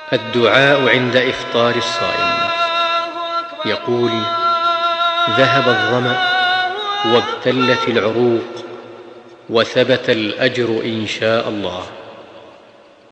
الدعاء عند إفطار الصائم. يقول: ذهب الظمأ وابتلت العروق وثبت الأجر إن شاء الله.